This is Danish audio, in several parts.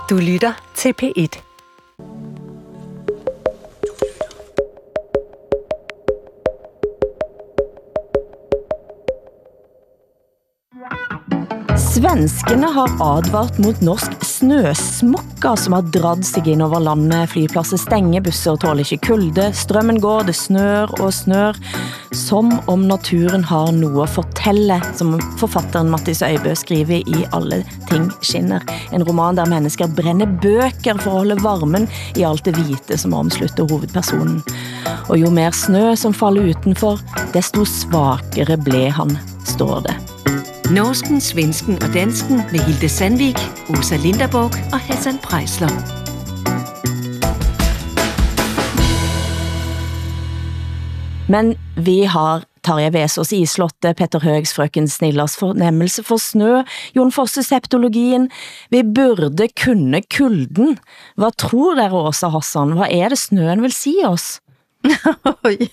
Du lytter til P1. Svenskene har advart mot norsk snøsmokka som har dratt sig ind over landet. Flypladser stenger, busser tåler ikke kulde, strømmen går, det snør og snør. Som om naturen har noe å fortelle, som forfatteren Mattis Øybø skriver i Alle ting skinner. En roman der mennesker brenner bøker for å holde varmen i alt det hvite som omslutter hovedpersonen. Og jo mer snø som faller utenfor, desto svakere ble han, står det. Norsken, svensken og dansken med Hilde Sandvik, Åsa Linderborg og Hassan Preisler. Men vi har Tarja Vesaas Islotte, Petter Høgs Frøken Snillas fornemmelse for snø, Jon Fosse septologien. Vi burde kunne kulden. Hva tror dere, Åsa Hassan? Hva det snøen vil si oss? Oj.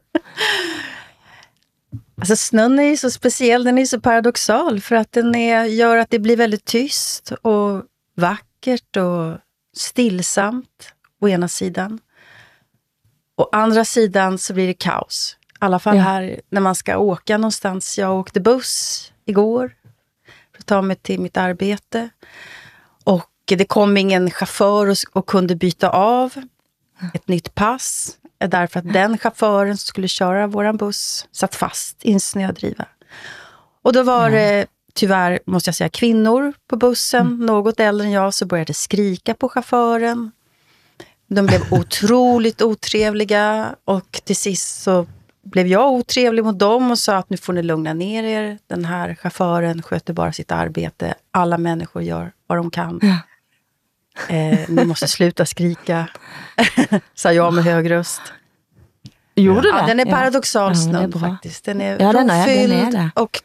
Alltså snön är ju så speciell, den är så paradoxal för att den gör att det blir väldigt tyst och vackert och stillsamt å ena sidan. Å andra sidan så blir det kaos. I alla fall här när man ska åka någonstans. Jag åkte buss igår för att ta mig till mitt arbete. Och det kom ingen chaufför och kunde byta av ett nytt pass. Därför att den chauffören som skulle köra våran buss satt fast i en snödriva. Och då var det tyvärr, måste jag säga, kvinnor på bussen. Något äldre än jag, så började skrika på chauffören. De blev otroligt otrevliga. Och till sist så blev jag otrevlig mot dem och sa att nu får ni lugna ner er. Den här chauffören sköter bara sitt arbete. Alla människor gör vad de kan. Ni måste sluta skrika, sa jag med hög röst. Gjorde du det? Ja, den är paradoxal snön faktiskt. Den är rofylld och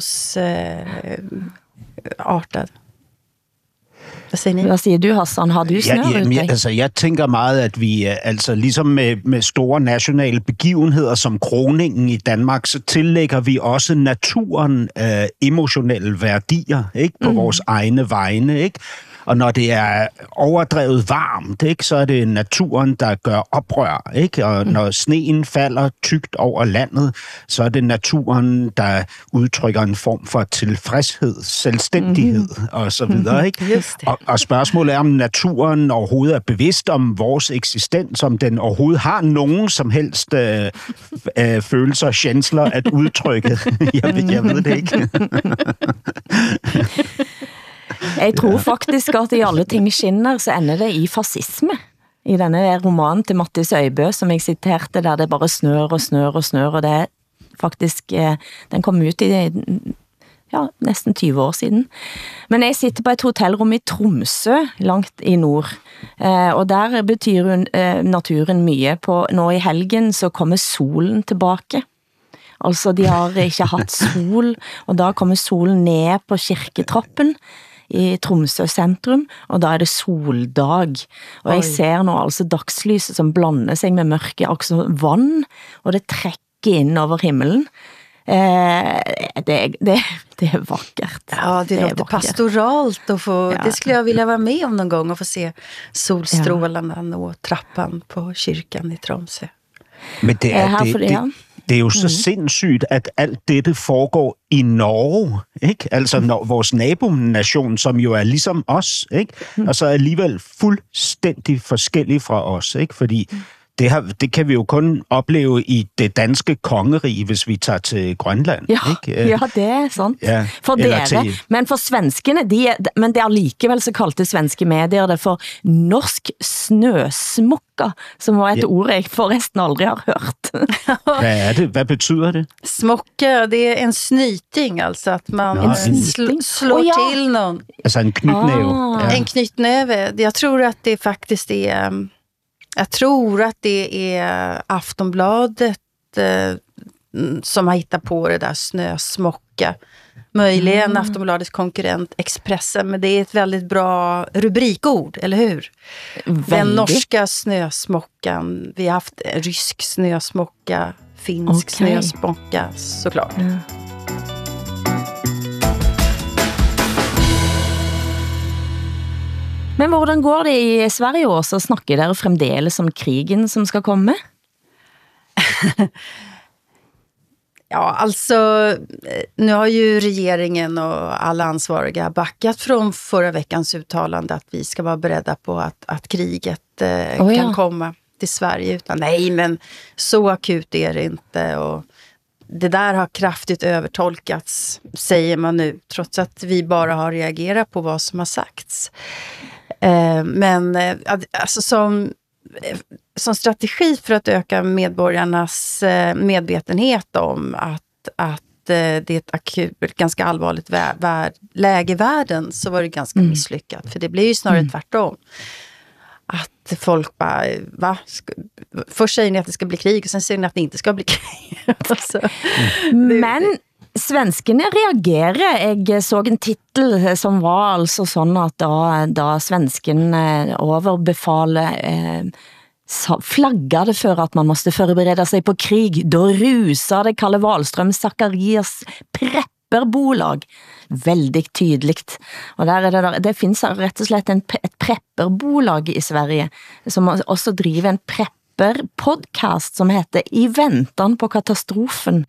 kaosartad. Hvad siger ni? Hvad siger du, Hassan? Har du snør? Altså, jeg tænker meget, at vi, altså ligesom med store nationale begivenheder som kroningen i Danmark, så tillægger vi også naturen emotionelle værdier, ikke, på vores egne vegne, ikke? Og når det er overdrevet varmt, ikke, så er det naturen, der gør oprør, ikke? Og når sneen falder tykt over landet, så er det naturen, der udtrykker en form for tilfredshed, selvstændighed og så videre, ikke? Og spørgsmålet er, om naturen overhovedet er bevidst om vores eksistens, om den overhovedet har nogen som helst følelser, kjensler at udtrykke. Jeg ved det ikke. Jeg tror faktisk at i Alle ting skinner så ender det i fascisme. I denne romanen til Mattis Øybø som jeg citerte, der det bare snør og snør og snør, og det er faktisk, den kom ut i nesten 20 år siden. Men jeg sitter på et hotellrum i Tromsø, langt i nord, og der betyr naturen mye. Nå i helgen så kommer solen tilbake. Altså de har ikke hatt sol, og da kommer solen ned på kirketrappen i Tromsø sentrum, og da det soldag. Og jeg ser nå altså dagslyset som blander seg med mørke, altså vann, og det trekker inn over himmelen. Det vackert. Ja, det låter pastoralt att få, det skulle jag vilja vara med om någon gång och få se solstrålarna nå trappan på kyrkan i Tromsø. Men det er jo så sindssygt, at alt dette foregår i Norge, ikke? Altså vores nabonation, som jo er ligesom os, ikke? Og så alligevel fuldstændig forskellig fra os, ikke? Fordi det kan vi jo kun opleve i det danske kongerige, hvis vi tager til Grønland. Ikke? Ja, det er sant. Ja, for dere. Men for svenskene, men det er likevel så kalte svenske medier det for norsk snøsmokka, som var et ord jeg forresten aldri har hørt. Hvad er det? Hvad betyder det? Smokka, det er en snyting, altså at man slår til nogen. Altså en knytnæve. En knytnäve. Jag tror att det faktiskt är... Jag tror att det är Aftonbladet som har hittat på det där snösmocka. Möjligen Aftonbladets konkurrent Expressen, men det är ett väldigt bra rubrikord, eller hur? Den norska snösmockan. Vi har haft rysk snösmocka, finsk snösmocka, såklart. Men hvordan går det i Sverige også? Snakker dere fremdeles om krigen som skal komme? Ja, alltså nu har ju regeringen och alla ansvariga backat från förra veckans uttalande att vi ska vara beredda på att kriget kan komma till Sverige. Utan nej, men så akut är det inte. Och det där har kraftigt övertolkats, säger man nu, trots att vi bara har reagerat på vad som har sagts. Men alltså som strategi för att öka medborgarnas medvetenhet om att det är ett akut, ganska allvarligt läge i världen, så var det ganska misslyckat. För det blir ju snarare tvärtom. Att folk bara, först säger ni att det ska bli krig och sen säger ni att det inte ska bli krig. Alltså, Men svenskene reagerer. Jeg så en titel som var altså sådan, at da svensken overbefaler flaggade för att man måste förbereda sig på krig. Då rusade Kalle Wahlström Zacharias prepperbolag. Väldigt tydligt. Och där det finns rätt och slett ett prepperbolag i Sverige som också driver en prepperpodcast som heter I väntan på katastrofen.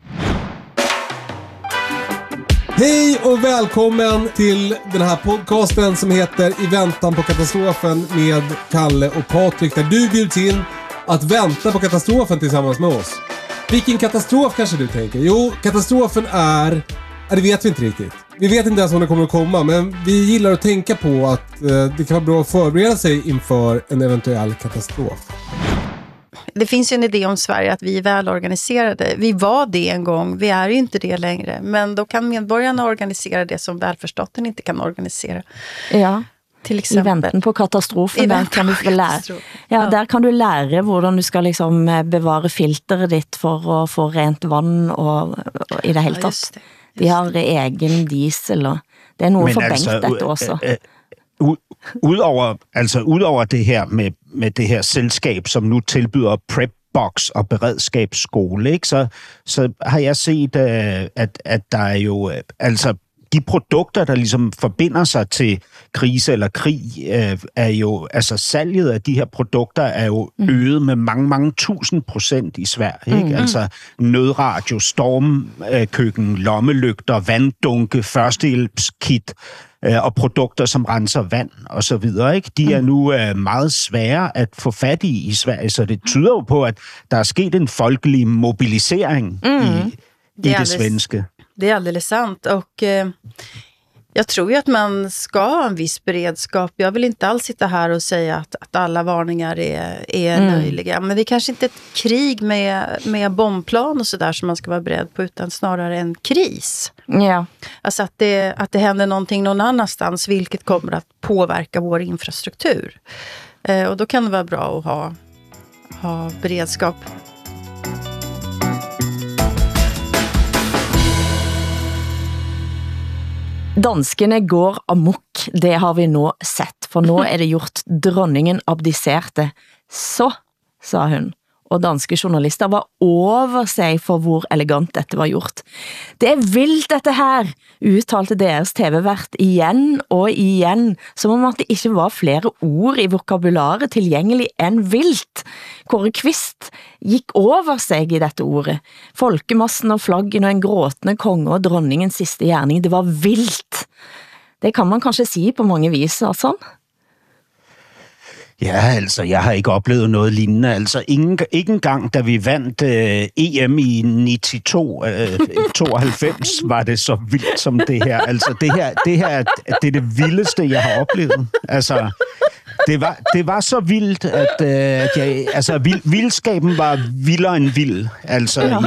Hej och välkommen till den här podcasten som heter I väntan på katastrofen med Kalle och Patrik, där du bjuds in att vänta på katastrofen tillsammans med oss. Vilken katastrof kanske du tänker? Jo, katastrofen är... det vet vi inte riktigt. Vi vet inte ens om det kommer att komma, men vi gillar att tänka på att det kan vara bra att förbereda sig inför en eventuell katastrof. Det finns ju en idé om Sverige att vi är väl organiserade. Vi var det en gång, vi är ju inte det längre. Men då kan medborgarna organisera det som välfärdsstaten inte kan organisera. Ja, till exempel. I väntan på katastrofen, där kan du få lära. Ja, där kan du lära hvordan du ska liksom bevara filtret ditt för att få rent vann och i det hele tatt. De har egen diesel, og det er noget forbankt dette også. Udover det her med det her selskab, som nu tilbyder PrepBox og beredskabsskole, ikke, så har jeg set, at der er jo de produkter, der ligesom forbinder sig til krise eller krig, er jo, altså salget af de her produkter er jo øget med mange 1000% i Sverige, ikke? Altså nødradio, stormkøkken, lommelygter, vanddunke, førstehjælpskit og produkter, som renser vand og så videre, ikke? De er nu meget svære at få fat i Sverige, så det tyder jo på, at der er sket en folkelig mobilisering i det svenske. Det är alldeles sant, och jag tror ju att man ska ha en viss beredskap. Jag vill inte alls sitta här och säga att alla varningar är löjliga. Men det är kanske inte ett krig med bombplan och sådär som man ska vara beredd på, utan snarare en kris. Ja. Alltså att det händer någonting någon annanstans, vilket kommer att påverka vår infrastruktur. Och då kan det vara bra att ha beredskap. Danskene går amok, det har vi nå sett, for nå er det gjort dronningen abdiserte. Så, sa hun, og danske journalister var over seg for hvor elegant dette var gjort. Det er vildt dette her, uttalte deres TV-vært igjen og igjen, som om at det ikke var flere ord i vokabularet tilgjengelig enn vildt. Kåre Kvist gik over seg i dette ordet. Folkemassen og flaggen og en gråtende konge og dronningens siste gjerning, det var vildt. Det kan man kanskje si på mange vis, altså. Ja, altså, jeg har ikke oplevet noget lignende. Altså, ikke engang, da vi vandt EM i 92 var det så vildt som det her. Altså, det er det vildeste, jeg har oplevet. Altså, det var så vildt, at vildskaben var vildere end vild. Altså, ja.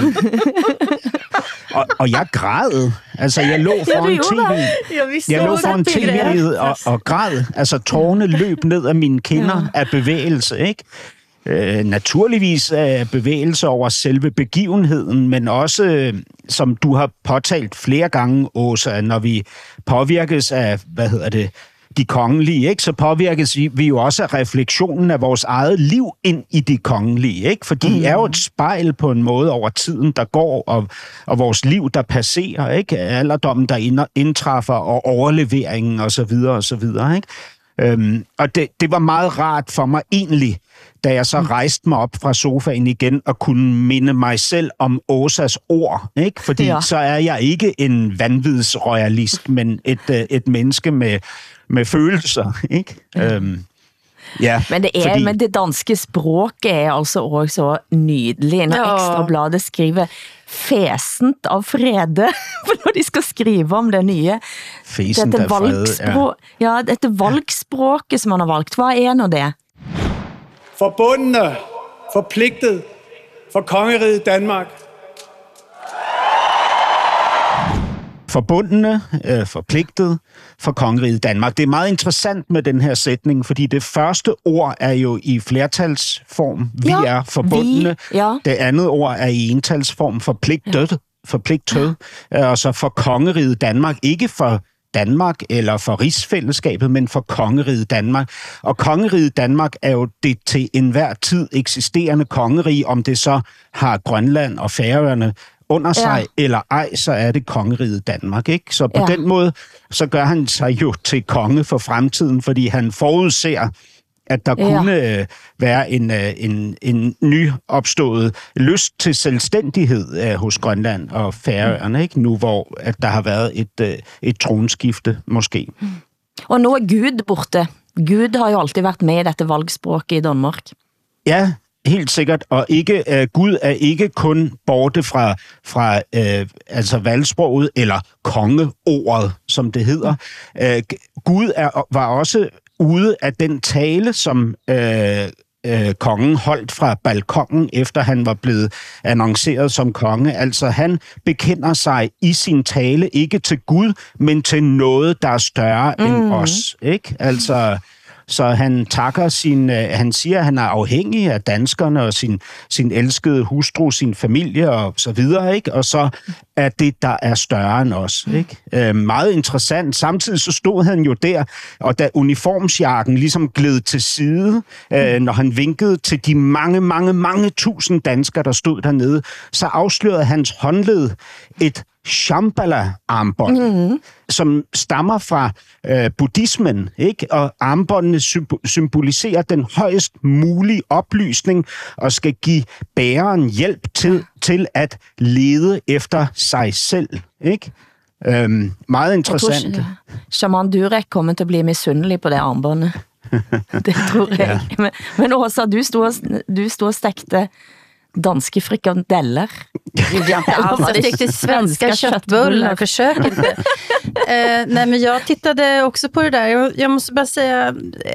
Og jeg græd. Altså, jeg lå foran tv. Jeg lå foran tv og græd. Altså, tårerne løb ned af mine kinder af bevægelse, ikke? Naturligvis bevægelse over selve begivenheden, men også, som du har påtalt flere gange, Åsa, når vi påvirkes af, de kongelige, ikke? Så påvirkes vi jo også af refleksionen af vores eget liv ind i de kongelige, ikke? For de er jo et spejl på en måde over tiden, der går, og vores liv, der passerer, ikke? Alderdommen, der indtræffer, og overleveringen, og så videre, ikke? Og det var meget rart for mig egentlig, da jeg så rejste mig op fra sofaen igen og kunne minde mig selv om Åsas ord, ikke? Fordi så er jeg ikke en vanvidsroyalist, men et menneske med følelser, ikke? Ja, men det danske språket er altså også så nydelig. Når Ekstrabladet skriver fesent af frede, for når de skal skrive om det nye. Fesent af frede, ja. Dette valgspråket, som man har valgt. Hvad er nu det? Forbundne, forpligtet for kongeriget Danmark. Forbundne, forpligtet for kongeriget Danmark. Det er meget interessant med den her sætning, fordi det første ord er jo i flertalsform. Vi er forbundne. Det andet ord er i entalsform, forpligtet. Og så for kongeriget Danmark. Ikke for Danmark eller for rigsfællesskabet, men for kongeriget Danmark. Og kongeriget Danmark er jo det til enhver tid eksisterende kongerige, om det så har Grønland og Færøerne under sig, eller ej, så er det kongeriget Danmark, ikke? Så på den måde, så gør han sig jo til konge for fremtiden, fordi han forudser, at der kunne være en nyopstået lyst til selvstændighed hos Grønland og Færøerne, ikke? Nu hvor at der har været et tronskifte, måske. Og nu er Gud borte. Gud har jo altid været med i dette valgspråket i Danmark. Ja, helt sikkert, og Gud er ikke kun borte fra altså valgsproget eller kongeordet, som det hedder. Gud var også ude af den tale, som kongen holdt fra balkongen, efter han var blevet annonceret som konge. Altså han bekender sig i sin tale ikke til Gud, men til noget, der er større end os, ikke? Altså så han takker han siger, at han er afhængig af danskerne og sin elskede hustru, sin familie og så videre, ikke? Og så er det, der er større end os, ikke? Meget interessant. Samtidig så stod han jo der, og da uniformsjakken ligesom gled til side, når han vinkede til de mange tusind danskere, der stod dernede, så afslørede hans håndled et Shambhala-armbånd, som stammer fra buddhismen, ikke? Og armbåndene symboliserer den højst mulige oplysning og skal give bæreren hjælp til at lede efter sig selv, ikke? Meget interessant. Jeg tror Shaman Durek kommer til at blive misundelig på det armbåndet. Det tror jeg. Ja. Men Åsa, du stod og stegte danske frikandeller. Alltså riktigt svenska köttbullar, försök inte. Nej, men jag tittade också på det där. Jag måste bara säga,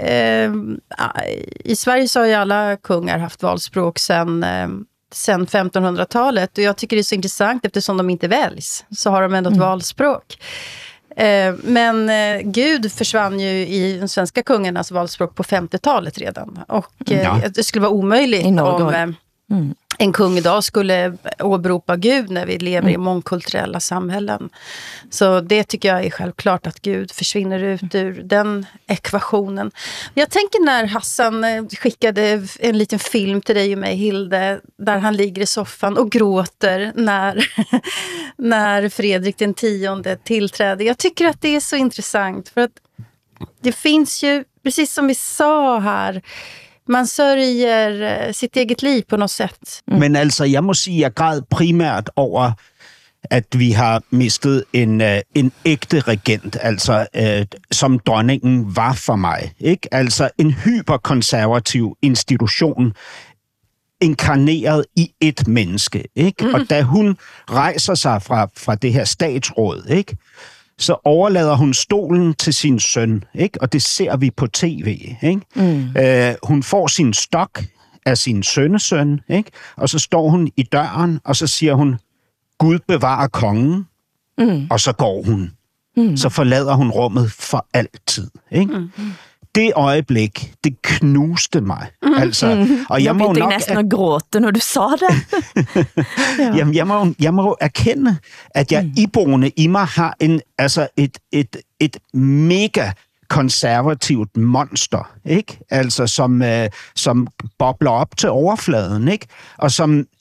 i Sverige så har ju alla kungar haft valspråk sen 1500-talet. Och jag tycker det är så intressant eftersom de inte väljs. Så har de ändå ett valspråk. Men Gud försvann ju i den svenska kungarnas valspråk på 50-talet redan. Och det skulle vara omöjligt om en kung idag skulle åberopa Gud när vi lever i mångkulturella samhällen. Så det tycker jag är självklart, att Gud försvinner ut ur den ekvationen. Jag tänker när Hassan skickade en liten film till dig och mig, Hilde, där han ligger i soffan och gråter när Fredrik den 10:e tillträder. Jag tycker att det är så intressant, för att det finns ju, precis som vi sa här, man sørger sitt eget liv på noget sæt. Men altså, jeg må sige, jeg græd primært over, at vi har mistet en ægte regent, altså som dronningen var for mig, ikke? Altså en hyperkonservativ institution, inkarneret i et menneske, ikke? Og da hun rejser sig fra det her statsråd, ikke? Så overlader hun stolen til sin søn, ikke? Og det ser vi på tv, ikke? Hun får sin stok af sin sønnesøn, ikke? Og så står hun i døren, og så siger hun, Gud bevarer kongen, og så går hun. Så forlader hun rummet for altid, ikke? Det øjeblik, det knuste mig. Altså, og jeg må nok næsten at gråte, når du sa det. Jamen, jeg må erkende, at jeg iboende i mig har et mega konservativt monster, ikke? Altså som bobler op til overfladen, ikke? Og som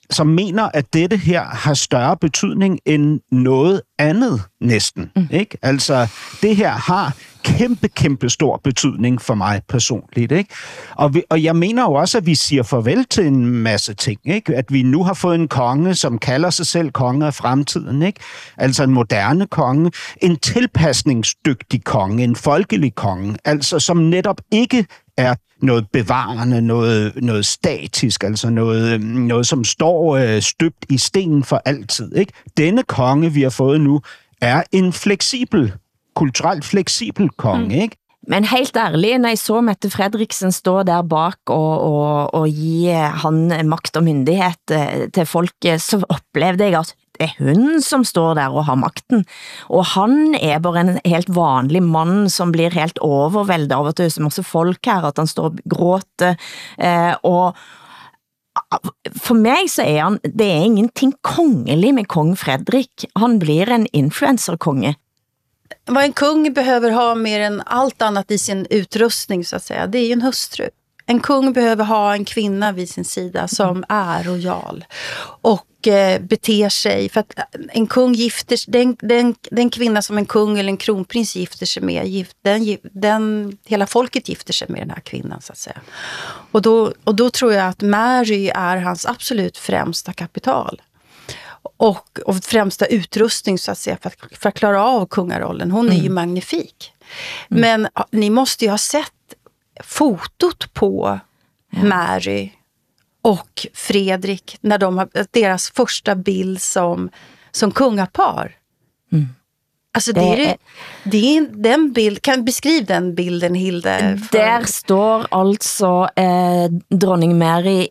som mener, at dette her har større betydning end noget andet næsten. Ikke? Altså, det her har kæmpe stor betydning for mig personligt. Ikke? Og jeg mener jo også, at vi siger farvel til en masse ting. Ikke? At vi nu har fået en konge, som kalder sig selv konge af fremtiden. Ikke? Altså en moderne konge, en tilpasningsdygtig konge, en folkelig konge, altså som netop ikke er noget bevarende, noget statisk, altså noget som står støbt i stenen for altid. Ikke? Denne konge, vi har fået nu, er en kulturelt fleksibel konge, ikke? Men helt ærlig, når jeg så Mette Frederiksen stå der bak og give han makt og myndighed til folket, så oplevede jeg, at det er hun som står der og har makten. Og han er bare en helt vanlig mand, som blir helt overvældet av at det er så masse folk her, at han står og gråter. Og for mig så er han, det er ingenting kongelig med kong Frederik. Han blir en influencerkonge. Vad en kung behöver ha mer än allt annat i sin utrustning så att säga, det är ju en hustru. En kung behöver ha en kvinna vid sin sida som är rojal och beter sig. För att en kung gifter sig, den kvinna som en kung eller en kronprins gifter sig med, hela folket gifter sig med den här kvinnan så att säga. Och då tror jag att Mary är hans absolut främsta kapital. Och främsta utrustning så att säga för att klara av kungarollen. Hon är ju magnifik. Men ni måste ju ha sett fotot på Mary och Fredrik när de har deras första bild som kungapar. Alltså det är den bild, kan beskriva den bilden, Hilde? Der står altså dronning Mary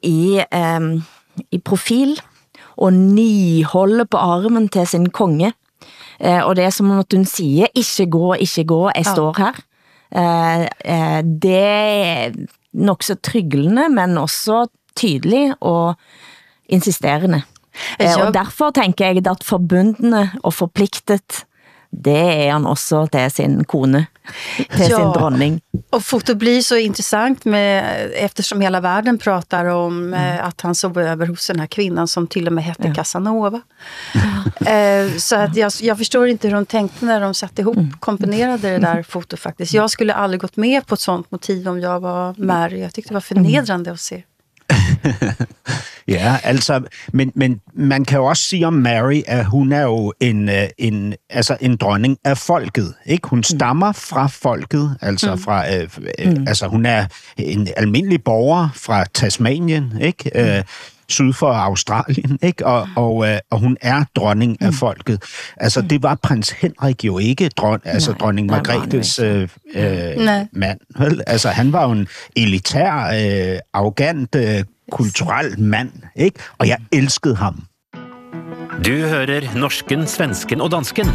i profil og niholder på armen til sin konge. Og det er som at hun siger, ikke gå, jeg står her. Det er nok så tryglende, men også tydelig og insisterende. Og derfor tænker jeg at forbundne og forpliktet, det är han också till sin kone, till sin dronning. Och foto blir så intressant eftersom hela världen pratar om att han sov över hos den här kvinnan som till och med hette Casanova. Så att jag förstår inte hur de tänkte när de satte ihop, komponerade det där foto faktiskt. Jag skulle aldrig gått med på ett sånt motiv om jag var Mary. Jag tyckte det var förnedrande att se. Ja, altså, men man kan jo også sige om Mary, at hun er jo en dronning af folket, ikke? Hun stammer fra folket, altså fra, altså hun er en almindelig borger fra Tasmanien, ikke? Syd for Australien, ikke? Og hun er dronning af folket. Altså, det var prins Henrik jo ikke, dronning Margrethes mand. Vel? Altså, han var jo en elitær, arrogant, kulturel mand, ikke? Og jeg elskede ham. Du hører norsken, svensken og dansken.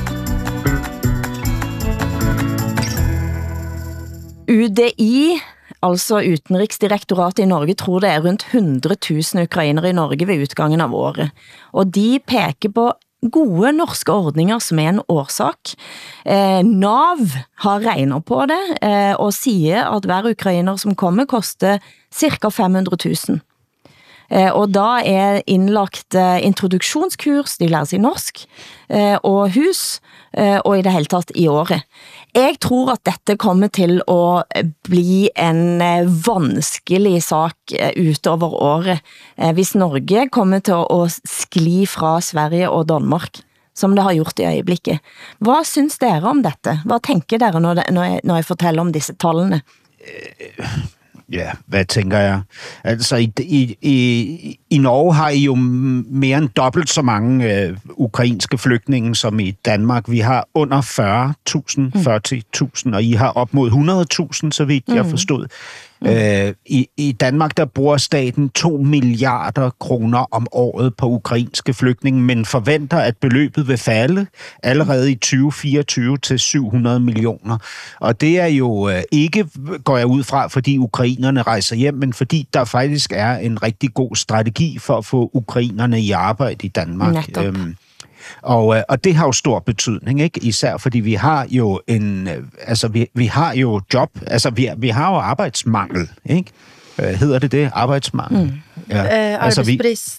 UDI, altså Utenriksdirektoratet i Norge, tror det er rundt 100 000 ukrainere i Norge ved utgangen av året. Og de peker på gode norske ordninger som er en årsak. NAV har regnet på det og siger at hver ukrainer som kommer koster cirka 500 000. Og da er indlagt introduksjonskurs, de lærer sig norsk, og hus, og i det hele tatt i året. Jeg tror at dette kommer til at bli en vanskelig sak utover året, hvis Norge kommer til at skli fra Sverige og Danmark, som det har gjort i øjeblikket. Hvad synes dere om dette? Hvad tænker dere, når jeg fortæller om disse tallene? Ja, hvad tænker jeg? Altså, i Norge har I jo mere end dobbelt så mange ukrainske flygtninge som i Danmark. Vi har under 40.000, og I har op mod 100.000, så vidt jeg forstod. I Danmark, der bruger staten 2 milliarder kroner om året på ukrainske flygtninge, men forventer, at beløbet vil falde allerede i 2024 til 700 millioner. Og det er jo ikke, går jeg ud fra, fordi ukrainerne rejser hjem, men fordi der faktisk er en rigtig god strategi for at få ukrainerne i arbejde i Danmark. Og det har jo stor betydning, ikke? Især fordi vi har jo vi har jo job, altså vi har jo arbejdsmangel, ikke? Hedder det arbejdsmangel? Ja. Arbetsbrist.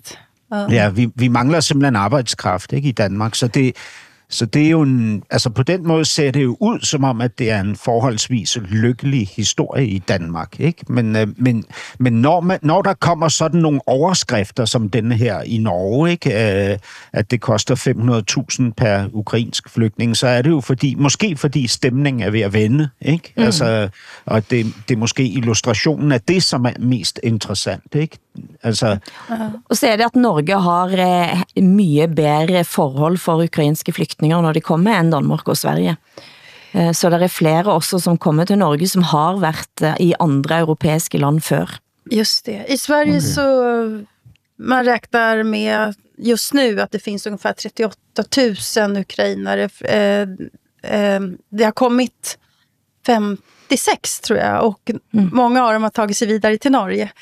Ja, vi mangler simpelthen arbejdskraft, ikke, i Danmark, så det er jo altså på den måde ser det jo ud som om, at det er en forholdsvis lykkelig historie i Danmark, ikke? Men når der kommer sådan nogle overskrifter som denne her i Norge, ikke, at det koster 500.000 per ukrainsk flygtning, så er det jo måske fordi stemningen er ved at vende, ikke? Altså, og det er måske illustrationen af det, som er mest interessant, ikke? Altså, og så er det, at Norge har mye bedre forhold for ukrainske flygtninger, når de kommer, end Danmark og Sverige. Så der er flere også, som kommer til Norge, som har været i andre europæiske land før. Just det. I Sverige så man räknar med just nu att det finns ungefär 38 000 ukrainare. Det har kommit 56 tror jag, och många av dem har tagit sig vidare till Norge.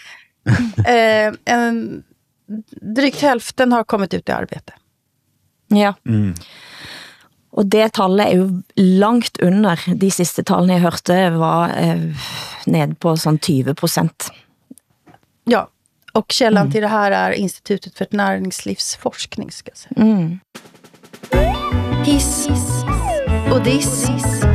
Drygt hälften har kommit ut i arbete. Ja. Og det tallet er jo langt under. De sidste tallene jeg hørte var ned på sånn 20%. Ja, och källan till det här är Institutet för näringslivsforskning, ska jag säga. Hiss och diss.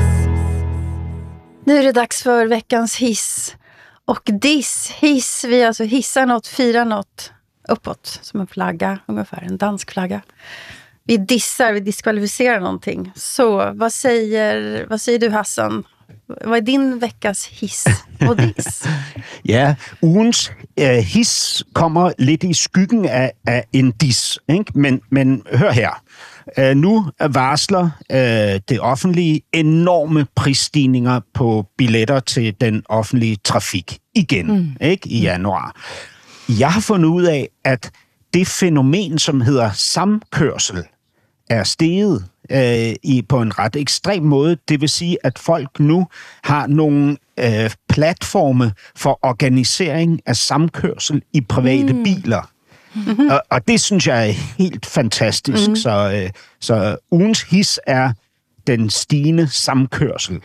Nu är det dags för veckans hiss och diss. Hiss, vi alltså hissar något, firar något uppåt som en flagga, ungefär en dansk flagga. Vi dissar, vi diskvalificerar någonting. Så vad säger du, Hassan? Vad är din veckas hiss og diss? Ja, ugens hiss kommer lidt i skyggen af en diss, ikke? Men hør her. Nu varsler det offentlige enorme prisstigninger på billetter til den offentlige trafik igen, ikke, i januar. Jeg har fundet ud af, at det fænomen, som hedder samkørsel, er steget på en ret ekstrem måde. Det vil sige, at folk nu har nogle platforme for organisering af samkørsel i private biler. Og det synes jeg er helt fantastisk. Så ugens his er den stigende samkørsel.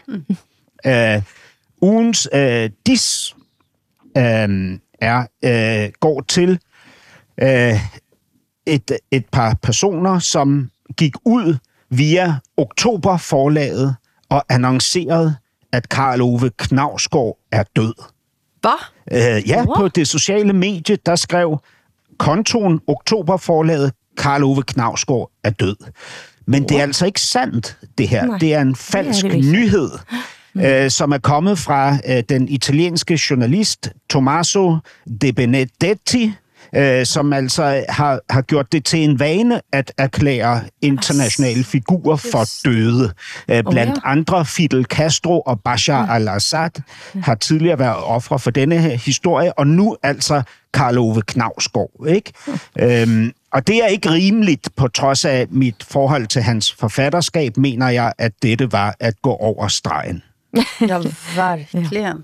Ugens dis går til et par personer, som gik ud via Oktoberforlaget og annoncerede, at Karl Ove Knausgård er død. Hvad? Ja, på det sociale medie, der skrev kontoen Oktoberforlaget, Karl Ove Knausgård er død. Men det er altså ikke sandt, det her. Nej, det er en falsk nyhed, som er kommet fra den italienske journalist Tommaso De Benedetti, som altså har gjort det til en vane at erklære internationale figurer for døde. Blandt andre Fidel Castro og Bashar al-Assad har tidligere været ofre for denne her historie, og nu altså Karl Ove Knausgård, ikke? Og det er ikke rimeligt, på trods af mit forhold til hans forfatterskab, mener jeg, at dette var at gå over stregen. Ja, verkligen.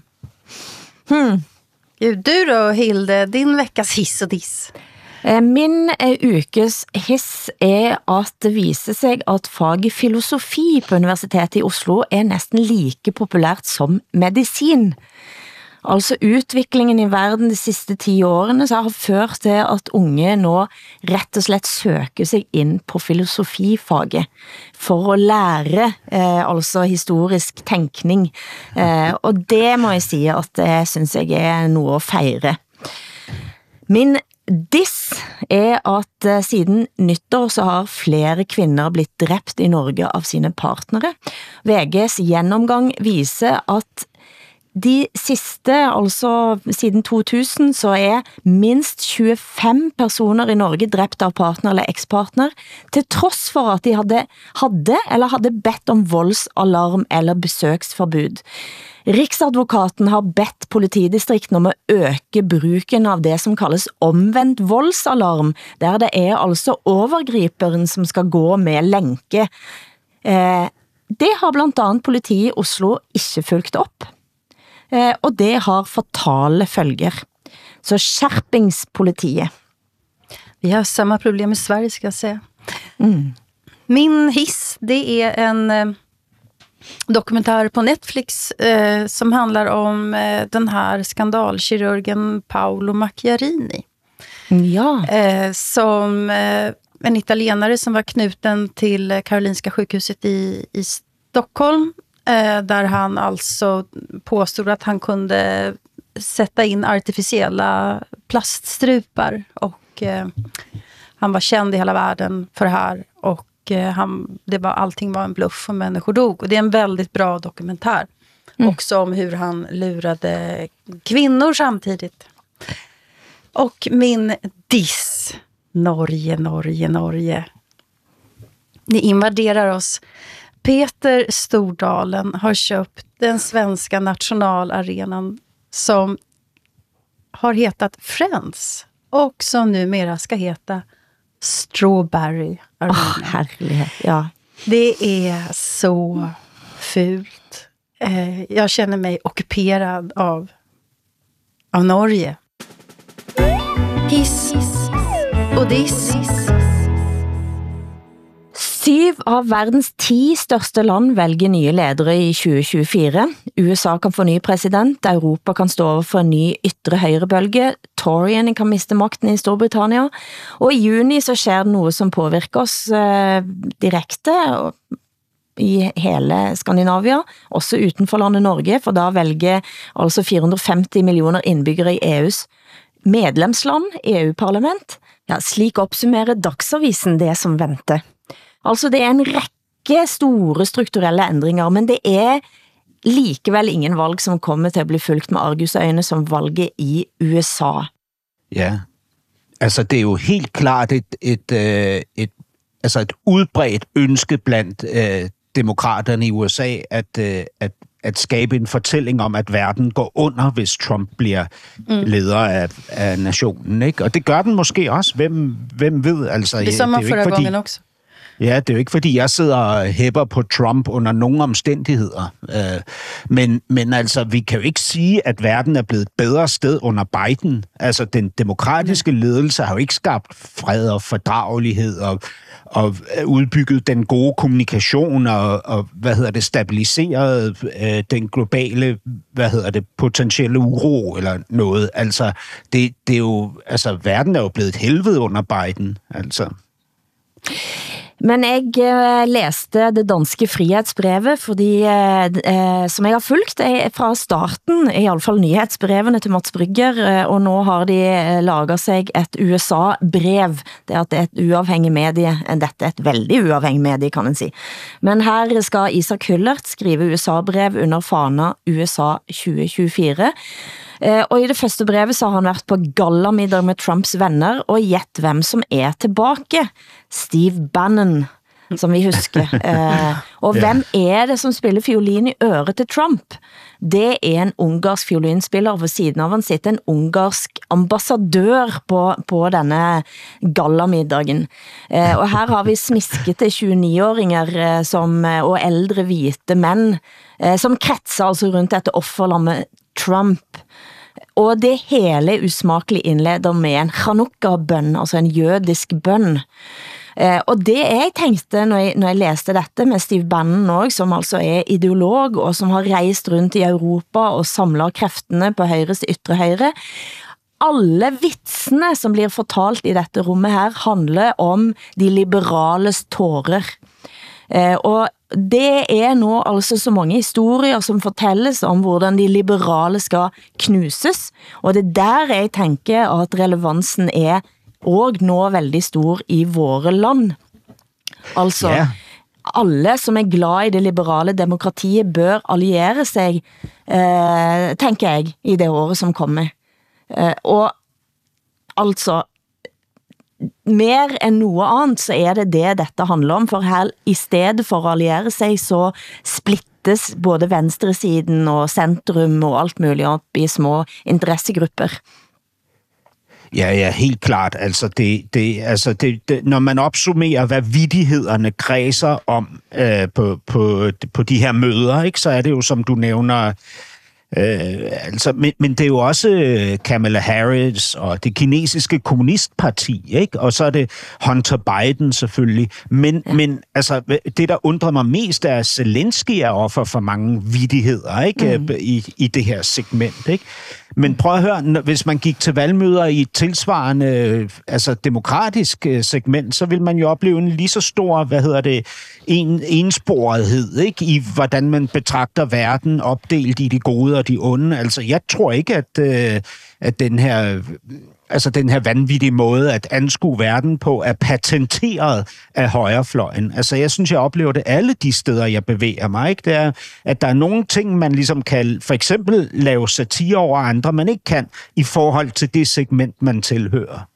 Du då, Hilde, din veckas hiss og diss? Min ukes hiss er at det viser sig, at faget filosofi på Universitetet i Oslo er næsten like populært som medicin. Altså utviklingen i verden de sidste 10 årene så har ført til, at unge nå rett og slett søker sig ind på filosofifaget for at lære altså historisk tænkning. Og det må jeg sige, at det synes jeg er noget at fejre. Min diss er at siden nyttår så har flere kvinder blitt dræbt i Norge av sine partnere. VG's gennemgang viser at de sidste, altså siden 2000, så er minst 25 personer i Norge dræbt av partner eller ekspartner, til trods for at de hadde bedt om voldsalarm eller besøksforbud. Riksadvokaten har bedt politidistrikten om at øke bruken av det som kaldes omvendt voldsalarm, der det er altså overgriperen som skal gå med lænke. Det har blandt andet politiet i Oslo ikke fulgt op. Og det har fatale følger. Så skärpingspolitiet. Vi har samma problem i Sverige, ska jag säga. Min hiss, det är en dokumentär på Netflix som handlar om den här skandalkirurgen Paolo Macchiarini. Ja. Som en italienare som var knuten till Karolinska sjukhuset i Stockholm. Där han alltså påstod att han kunde sätta in artificiella plaststrupar. Och han var känd i hela världen för det här. Och allting var en bluff och människor dog. Och det är en väldigt bra dokumentär. Också om hur han lurade kvinnor samtidigt. Och min diss. Norge. Ni invaderar oss. Peter Stordalen har köpt den svenska nationalarenan som har hetat Friends. Och som numera ska heta Strawberry Arena. Herlighet, ja. Det är så fult. Jag känner mig ockuperad av Norge. Hiss og diss. 7 av verdens 10 største land velger nye ledere i 2024. USA kan få ny president, Europa kan stå over for en ny ytre høyrebølge, Toryene kan miste makten i Storbritannia, og i juni så skjer det noe som påvirker oss direkte i hele Skandinavia, også utenfor landet Norge, for da velger altså 450 millioner innbyggere i EUs medlemsland, EU-parlament. Ja, slik oppsummerer Dagsavisen det som venter. Altså det er en rekke store strukturelle ændringer, men det er likevel ingen valg som kommer til at bli fulgt med argusøjne som valget i USA. Ja, altså det er jo helt klart et udbredt ønske blandt demokraterne i USA at skabe en fortælling om, at verden går under, hvis Trump bliver leder af nationen, ikke? Og det gør den måske også. Hvem ved? Altså, det som det forrige gangen også. Ja, det er jo ikke, fordi jeg sidder og hæpper på Trump under nogen omstændigheder. Men altså, vi kan jo ikke sige, at verden er blevet et bedre sted under Biden. Altså, den demokratiske ledelse har jo ikke skabt fred og fordragelighed og udbygget den gode kommunikation og stabiliseret den globale, potentielle uro eller noget. Altså, det er jo, altså, verden er jo blevet et helvede under Biden, altså. Men jeg læste det danske frihetsbrevet, fordi, som jeg har fulgt fra starten, i alle fall nyhetsbrevene til Mats Brygger, og nå har de laget sig et USA-brev. Det er et uafhængig medie, dette er et veldig uafhængig medie, kan man si. Men her skal Isak Hullert skrive USA-brev under fana USA 2024, og i det første brevet så har han været på gallamiddag med Trumps venner, og gjett hvem som er tilbake. Steve Bannon, som vi husker. Og hvem er det som spiller fiolin i øret til Trump? Det er en ungarsk fiolinspiller, og ved siden av han sitter en ungarsk ambassadør på denne gallamiddagen. Og her har vi smiskete 29-åringer og ældre hvite mænd, som kretser altså rundt dette offerlammet Trump. Og det hele usmakelig indleder med en Chanukka-bøn, altså en jødisk bøn. Og det jeg tenkte når jeg læste dette med Steve Bannon også, som altså er ideolog og som har reist rundt i Europa og samler kreftene på højres ytre højre, alle vitsene som blir fortalt i dette rummet her handler om de liberales tårer. Og det er nå altså så mange historier som fortælles om hvordan de liberale skal knuses, og det er der jeg tænker at relevansen er og nå veldig stor i våre land. Altså, alle som er glad i det liberale demokratiet bør alliere sig, tænker jeg, i det året som kommer. Og altså, mer end noget andet, så er det dette handler om, for her i stedet for at alliere sig, så splittes både venstresiden og centrum og alt muligt op i små interessegrupper. Ja, helt klart. Altså, når man opsummerer, hvad vittighederne kredser om på de her møder, ikke, så er det jo, som du nævner, Men det er jo også Kamala Harris og det kinesiske kommunistparti, ikke? Og så er det Hunter Biden selvfølgelig. Men altså, det, der undrer mig mest, er, at Zelensky er offer for mange vittigheder, ikke? I det her segment, ikke? Men prøv at høre, hvis man gik til valgmøder i et tilsvarende demokratisk segment, så vil man jo opleve en lige så stor, ensporethed, ikke? I hvordan man betragter verden opdelt i de gode og de onde. Altså, jeg tror ikke, at den her vanvittige måde at anskue verden på er patenteret af højrefløjen. Altså, jeg synes, jeg oplever det alle de steder, jeg bevæger mig, ikke? Det er, at der er nogle ting, man ligesom kan for eksempel lave satire over andre, man ikke kan i forhold til det segment, man tilhører.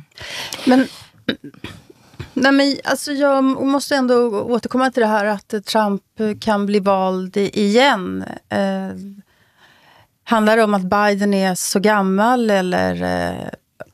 Men alltså jag måste ändå återkomma till det här att Trump kan bli vald igen. Handlar det om att Biden är så gammal eller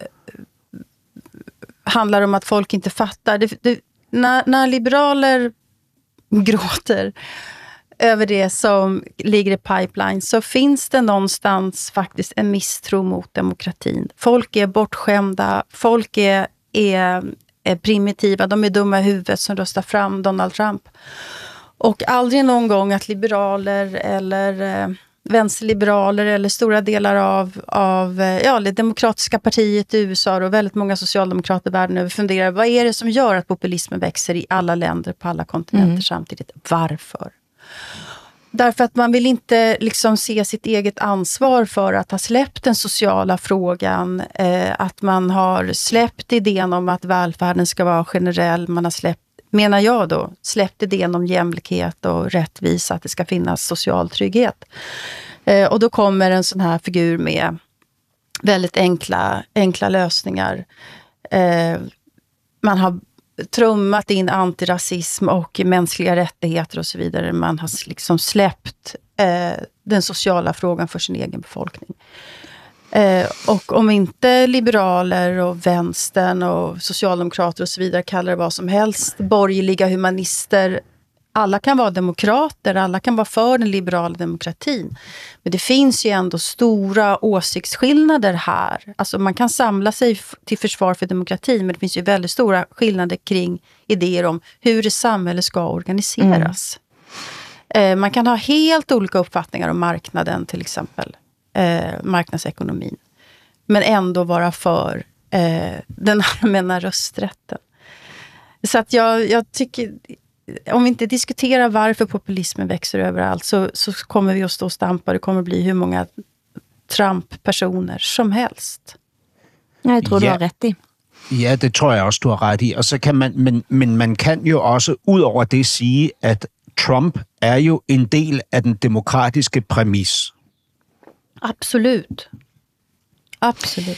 handlar det om att folk inte fattar? När liberaler gråter över det som ligger i pipeline så finns det någonstans faktiskt en misstro mot demokratin. Folk är bortskämda, folk är primitiva, de är dumma i huvudet som röstar fram Donald Trump. Och aldrig någon gång att liberaler eller vänsterliberaler eller stora delar av det demokratiska partiet i USA och väldigt många socialdemokrater världen över funderar, vad är det som gör att populismen växer i alla länder på alla kontinenter samtidigt? Varför? Därför att man vill inte liksom se sitt eget ansvar för att ha släppt den sociala frågan, att man har släppt idén om att välfärden ska vara generell, man har släppt, menar jag då, släppt idén om jämlikhet och rättvisa, att det ska finnas social trygghet. Och då kommer en sån här figur med väldigt enkla lösningar. Man har trummat in antirasism och mänskliga rättigheter och så vidare. Man har liksom släppt den sociala frågan för sin egen befolkning. Och om inte liberaler och vänstern och socialdemokrater och så vidare kallar det vad som helst, borgerliga humanister, alla kan vara demokrater, alla kan vara för den liberala demokratin. Men det finns ju ändå stora åsiktsskillnader här. Alltså man kan samla sig till försvar för demokratin, men det finns ju väldigt stora skillnader kring idéer om hur samhället ska organiseras. Man kan ha helt olika uppfattningar om marknaden till exempel. Marknadsekonomin. Men ändå vara för den allmänna rösträtten. Så att jag tycker, om vi inte diskuterar varför populismen växer överallt så kommer vi att stå och stampa. Det kommer att bli hur många Trump-personer som helst. Jag tror du har rätt i. Ja, det tror jeg også, du har ret i. Og så kan men man kan jo også ud over det sige, at Trump er jo en del af den demokratiske præmis. Absolut. Absolut.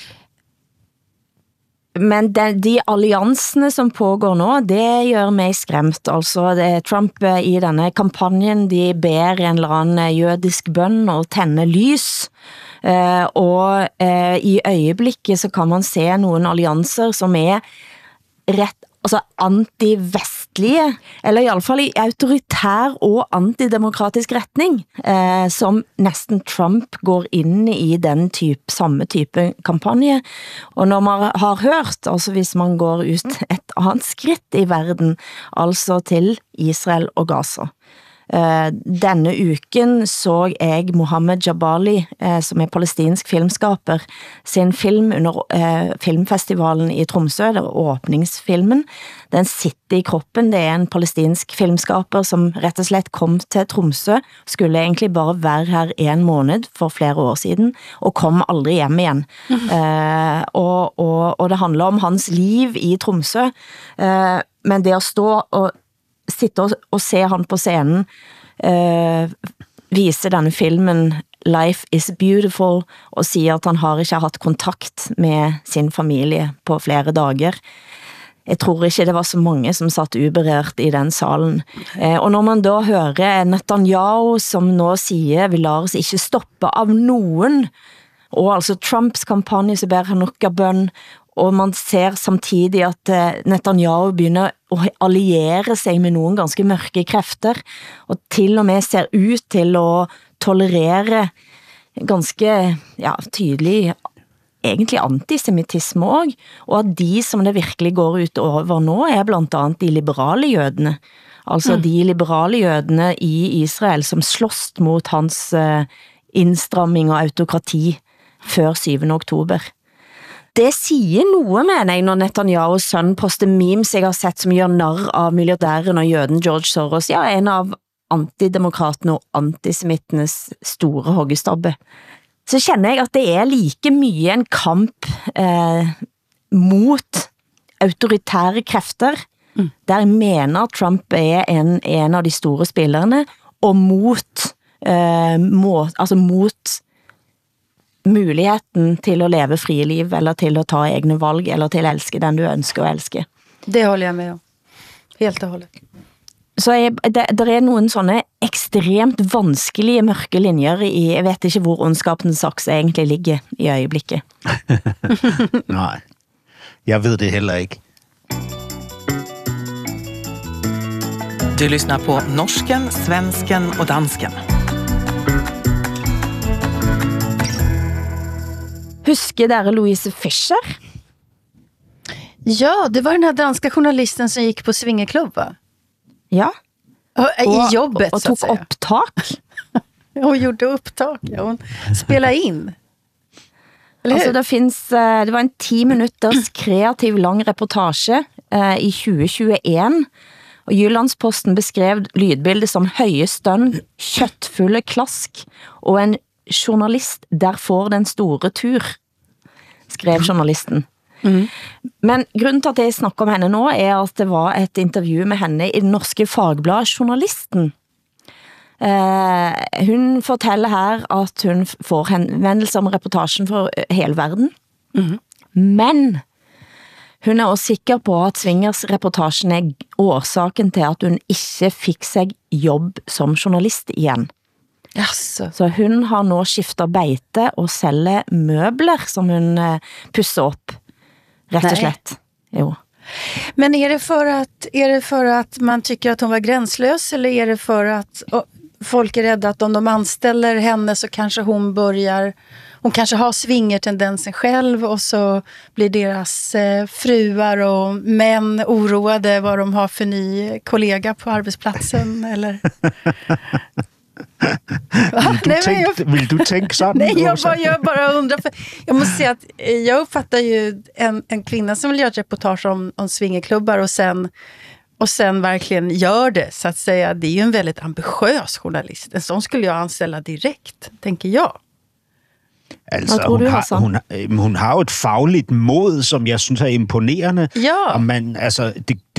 Men de alliansene som pågår nå, det gør mig skræmt. Altså, Trump i denne kampanjen, de ber en eller anden jødisk bøn og tænde lys. Og i øjeblikket så kan man se nogle allianser som ret, altså anti-vestlige, eller i alle fall i autoritær og antidemokratisk retning, som næsten Trump går ind i den samme type kampagne. Og når man har hørt, altså hvis man går ut et andet skridt i verden, altså til Israel og Gaza. Denne uken så jeg Mohammed Jabali, som palestinsk filmskaper, sin film under filmfestivalen i Tromsø, det var åbningsfilmen. Den sitter i kroppen, det en palestinsk filmskaper som rett og slett kom til Tromsø, skulle egentlig bare være her 1 måned for flere år siden, og kom aldri hjem igjen. Og det handler om hans liv i Tromsø, men det at stå og sitte og se han på scenen, vise denne filmen Life is Beautiful, og sige at han har ikke haft kontakt med sin familie på flere dager. Jeg tror ikke det var så mange som satt uberørt i den salen. Og når man da hører Netanyahu som nå siger, vi lar oss ikke stoppe av nogen, og altså Trumps kampagne så ber Hanukkah-bøn, og man ser samtidig at Netanyahu begynder at alliere sig med nogle ganske mørke kræfter, og til og med ser ut til at tolerere ganske tydelig egentlig antisemitisme også, og at de som det virkelig går ut over nå blant annet de liberale jødene. Altså de liberale jødene i Israel som slåss mot hans innstramming og autokrati før 7. oktober. Det sier noe, mener jeg, når Netanyahus sønn poster memes jeg har sett som gjør narr av milliardæren og jøden George Soros, en av antidemokratene og antisemittenes store hoggestabbe. Så kjenner jeg at det like mye en kamp mot autoritære krefter, der jeg mener at Trump en av de store spillerne, og mot muligheten til å leve frie liv, eller til å ta egne valg, eller til å elske den du ønsker å elske. Det håller jeg med om. Helt og hållet. Så det noen sånne ekstremt vanskelige mørke linjer i, jeg vet ikke hvor ondskapens saks egentlig ligger i øyeblikket. Nej, jeg ved det heller ikke. Du lyssnar på Norsken, Svensken och Dansken. Husker dere Louise Fischer? Ja, det var den här danska journalisten som gick på swingerklubb, va? Ja. I jobbet, och så att säga. Och tog upptak. Hon gjorde upptak, hon spelade in. Altså, det var en 10 minutters kreativ lang reportage i 2021, og Jyllandsposten beskrev lydbildet som høye stønn, kjøttfulle klask, og en journalist der får den store tur, skrev journalisten. Men grunnen til at jeg snakker om henne nå at det var et intervju med henne i den norske fagblad Journalisten. Hun forteller her at hun får henvendelser om reportasjen for hele verden. Men hun også sikker på at Swingers-reportasjen årsaken til at hun ikke fikk seg jobb som journalist igjen. Jaså. Så hun har nå skiftet beite og selger møbler som hun pusser opp. Rätt och slett. Jo. Men är det för att man tycker att hon var gränslös, eller är det för att folk är rädda att om de anställer henne så kanske hon kanske har swingertendensen själv, och så blir deras fruar och män oroade vad de har för ny kollega på arbetsplatsen, eller? Vill du tänka så? Nej, jag bara undrar, för jag måste säga att jag uppfattar ju en kvinna som vill göra ett reportage om swingerklubbar och sen verkligen gör det, så att säga, det är ju en väldigt ambitiös journalist. En sån skulle jag anställa direkt, tänker jag. Altså, hun har jo et fagligt mod, som jeg synes imponerende. Ja. Og man, altså,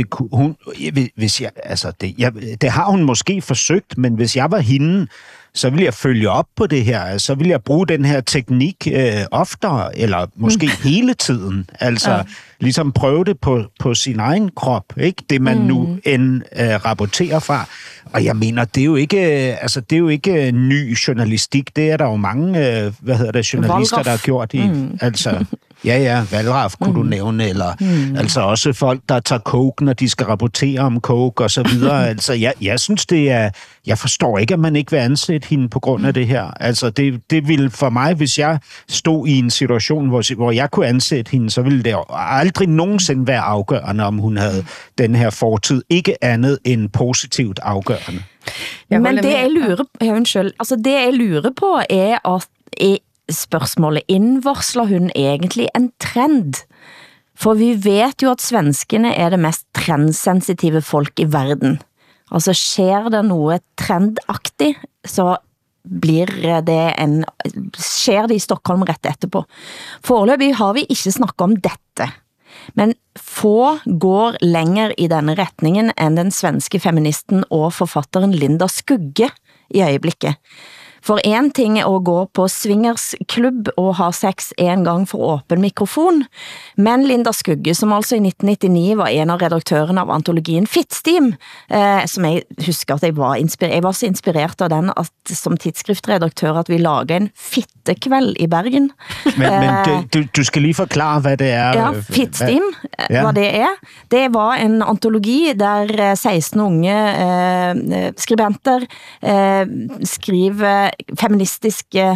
det har hun måske forsøgt, men hvis jeg var hende, så vil jeg følge op på det her. Så vil jeg bruge den her teknik oftere, eller måske hele tiden. Altså, ligesom prøve det på sin egen krop, ikke? Det man nu rapporterer fra. Og jeg mener, det er jo ikke ny journalistik. Det er der jo mange, journalister, der har gjort i. Altså, Valraf kunne du nævne, eller altså også folk, der tager coke, når de skal rapportere om coke, og så videre. Altså, jeg synes, jeg forstår ikke, at man ikke vil ansætte hende på grund af det her. Altså, det ville for mig, hvis jeg stod i en situation, hvor jeg kunne ansætte hende, så ville det aldrig nogensinde være afgørende, om hun havde den her fortid. Ikke andet end positivt afgørende. Men det jeg lurer på at spørsmålet, innvarsler hun egentlig en trend? For vi vet jo at svenskene det mest trendsensitive folk i verden. Altså, skjer det noe trendaktig, så skjer det i Stockholm rett etterpå. Foreløpig har vi ikke snakket om dette, men få går lenger i denne retningen enn den svenske feministen og forfatteren Linda Skugge i øyeblikket. For en ting å gå på swingersklubb og ha sex en gang for åpen mikrofon, men Linda Skugge, som altså i 1999 var en av redaktørene av antologien Fittstim, som jeg husker at jeg var så inspirert av den at, som tidsskriftredaktør, at vi laget en fittekveld i Bergen. Men du skal lige forklare, hvad det er. Ja, Fittstim, hvad det er. Det var en antologi der 16 unge skribenter skriver feministiske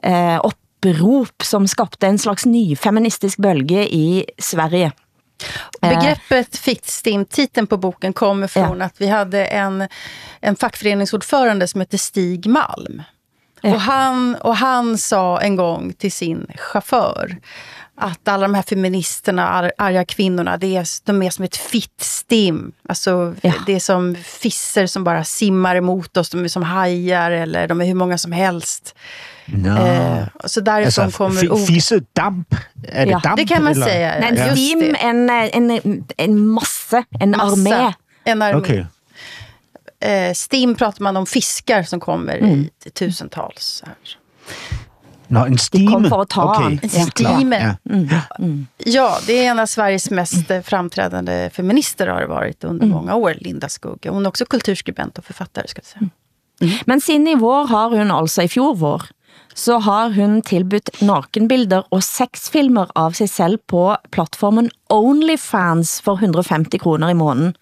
opprop, som skabte en slags ny feministisk bølge i Sverige. Begreppet fittstim, titeln på boken kommer från att vi hade en fackföreningsordförande som heter Stig Malm. Och han sa en gång till sin chaufför att alla de här feministerna, arga kvinnorna, de är som ett fittstim. Alltså det är som fisser som bara simmar emot oss, de är som hajar eller de är hur många som helst. Så därifrån kommer fissedamp? Är det damp? Det kan man säga. Nej, stim, en masse, en armé. En armé. Okay. Stim pratar man om fiskar som kommer i tusentals. En stime. De kom för att ta okay. En stime. Ja, det är en av Sveriges mest framträdande feminister har det varit under många år, Linda Skugge. Hon är också kulturskribent och författare, ska jag säga. Men siden i vår har hun altså, i fjor vår, så har hun tilbudt nakenbilder og sexfilmer av sig selv på plattformen OnlyFans for 150 kroner i måneden.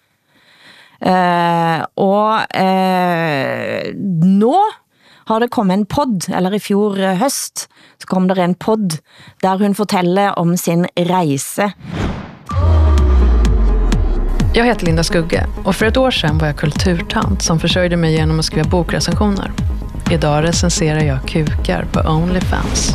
Nå har det kommet en podd, eller i fjor høst, så kom der en podd, der hun fortæller om sin rejse. Jag heter Linda Skugge och för ett år sedan var jag kulturtant som försörjde mig genom att skriva bokrecensioner. Idag recenserar jag kukar på OnlyFans.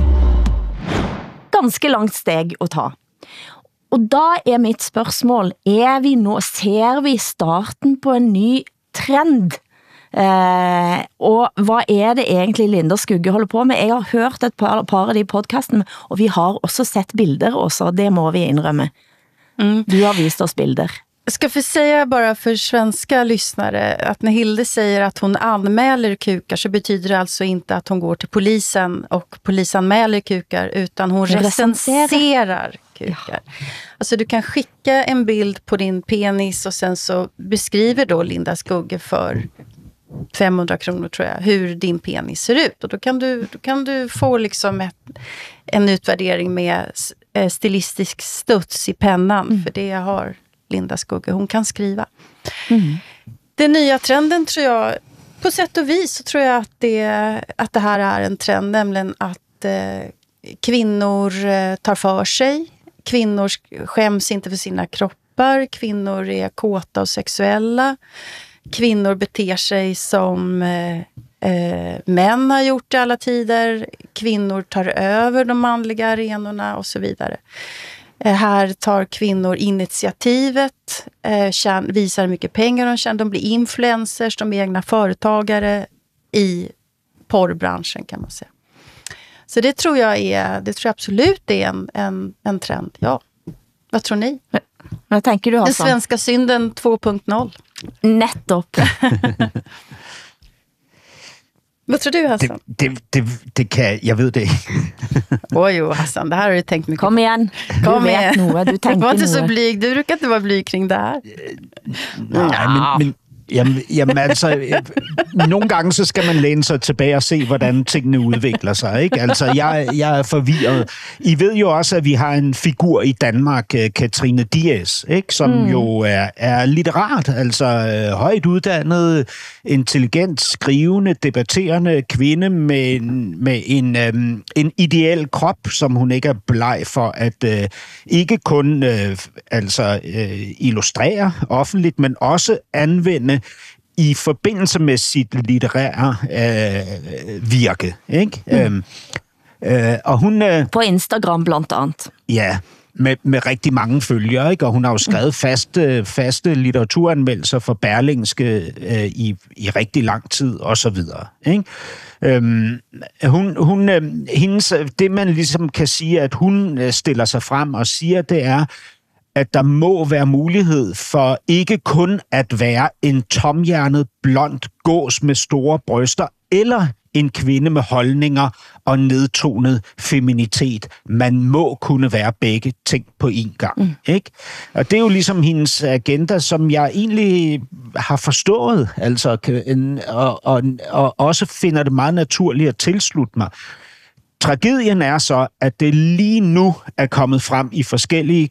Ganske langt steg at ta. Og da er mitt spørgsmål, ser vi starten på en ny trend? Og hvad er det egentlig Linda Skugge holder på med? Jeg har hørt et par av de podcastene, og vi har også sett bilder også, det må vi indrømme. Du har vist oss bilder. Jag ska få säga bara för svenska lyssnare att när Hilde säger att hon anmäler kukar så betyder det alltså inte att hon går till polisen och polisanmäler kukar utan hon recenserar kukar. Alltså du kan skicka en bild på din penis och sen så beskriver då Linda Skugge för 500 kronor tror jag hur din penis ser ut och då kan du få liksom en utvärdering med stilistisk studs i pennan för det har Linda Skugge, hon kan skriva. Den nya trenden tror jag, på sätt och vis så tror jag att det här är en trend, nämligen att kvinnor tar för sig, kvinnor skäms inte för sina kroppar, kvinnor är kåta och sexuella, kvinnor beter sig som män har gjort i alla tider, kvinnor tar över de manliga arenorna och så vidare. Här tar kvinnor initiativet, visar hur mycket pengar de tjänar, de blir influencers, de är egna företagare i porrbranschen kan man säga. Så det tror jag absolut är en trend, ja. Vad tror ni? Vad tänker du, Hassan? Den svenska synden 2.0. Nettopp. Vad tror du, Hassan? Det kan jag vet det. Oj, Hassan, det här har du tänkt mycket. Kom igen. Du vet något, du tänker var inte så något. blyg. Du brukar inte vara blyg kring det här. Nej, men jamen altså, nogle gange så skal man læne sig tilbage og se, hvordan tingene udvikler sig, ikke? Altså, jeg er forvirret. I ved jo også, at vi har en figur i Danmark, Katrine Dias, ikke? Som jo er litterat, altså højt uddannet, intelligent, skrivende, debatterende kvinde med en ideel krop, som hun ikke er bleg for at ikke kun illustrere offentligt, men også anvende i forbindelse med sit litterære virke, ikke? Og hun på Instagram blandt andet. Ja, med rigtig mange følgere, ikke? Og hun har jo skrevet faste litteraturanmeldelser for Berlingske i rigtig lang tid og så videre, ikke? Det man ligesom kan sige, at hun stiller sig frem og siger, det er, at der må være mulighed for ikke kun at være en tomhjernet, blond gås med store bryster, eller en kvinde med holdninger og nedtonet feminitet. Man må kunne være begge ting på én gang. Ikke? Og det er jo ligesom hendes agenda, som jeg egentlig har forstået, altså, og også finder det meget naturligt at tilslutte mig. Tragedien er så, at det lige nu er kommet frem i forskellige